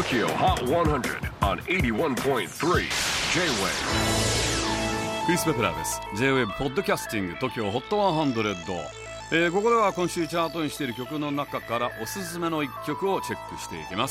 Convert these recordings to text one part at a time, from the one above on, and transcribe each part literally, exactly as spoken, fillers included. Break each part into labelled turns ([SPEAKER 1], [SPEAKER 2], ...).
[SPEAKER 1] Tokyo Hot one hundred on エイティワンポイントスリー J-Wave。
[SPEAKER 2] クリス・ペプラーです。 J-Wave ポッドキャスティング Tokyo Hot ワンハンドレッド、えー、ここでは今週チャートにしている曲の中からおすすめのいっきょくをチェックしていきます。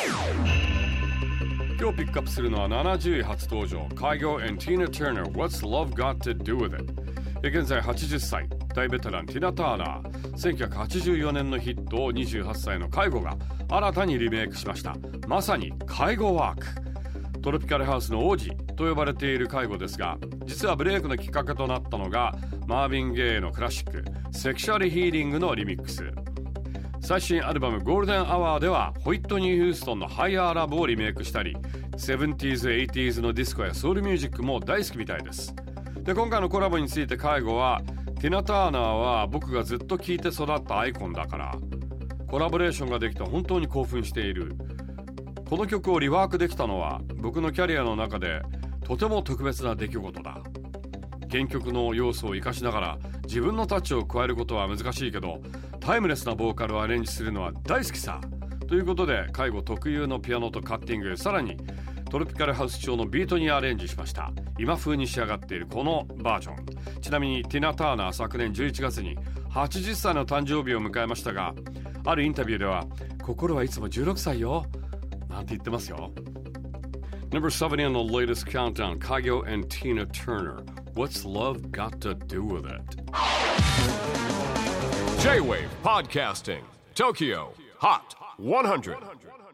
[SPEAKER 2] 今日ピックアップするのはななじゅうい初登場 Kygo and Tina Turner What's Love Got to Do With It。 現在はちじゅっさい、大ベテランティナ・ターナー。せんきゅうひゃくはちじゅうよねんのヒットをにじゅうはっさいの介護が新たにリメイクしました。まさに介護ワーク。トロピカルハウスの王子と呼ばれている介護ですが、実はブレイクのきっかけとなったのがマーヴィン・ゲイのクラシックセクシュアルヒーリングのリミックス。最新アルバムゴールデンアワーではホイットニー・ヒューストンのハイヤーラブをリメイクしたり、セブンティーズ、エイティーズのディスコやソウルミュージックも大好きみたいです。で、今回のコラボについて介護は、ティナ・ターナーは僕がずっと聴いて育ったアイコンだから、コラボレーションができて本当に興奮している。この曲をリワークできたのは僕のキャリアの中でとても特別な出来事だ。原曲の要素を生かしながら自分のタッチを加えることは難しいけど、タイムレスなボーカルをアレンジするのは大好きさ。ということで介護特有のピアノとカッティング、さらにトロピカルハウス調のビートにアレンジしました。今風に仕上がっているこのバージョン。ちなみにティナ・ターナー昨年じゅういちがつにはちじゅっさいの誕生日を迎えましたが、あるインタビューでは心はいつもじゅうろくさいよなんて言ってますよ。 Number seventy on the latest countdown, Kygo and Tina Turner What's Love Got to Do With It。
[SPEAKER 1] J-Wave Podcasting Tokyo Hot one hundred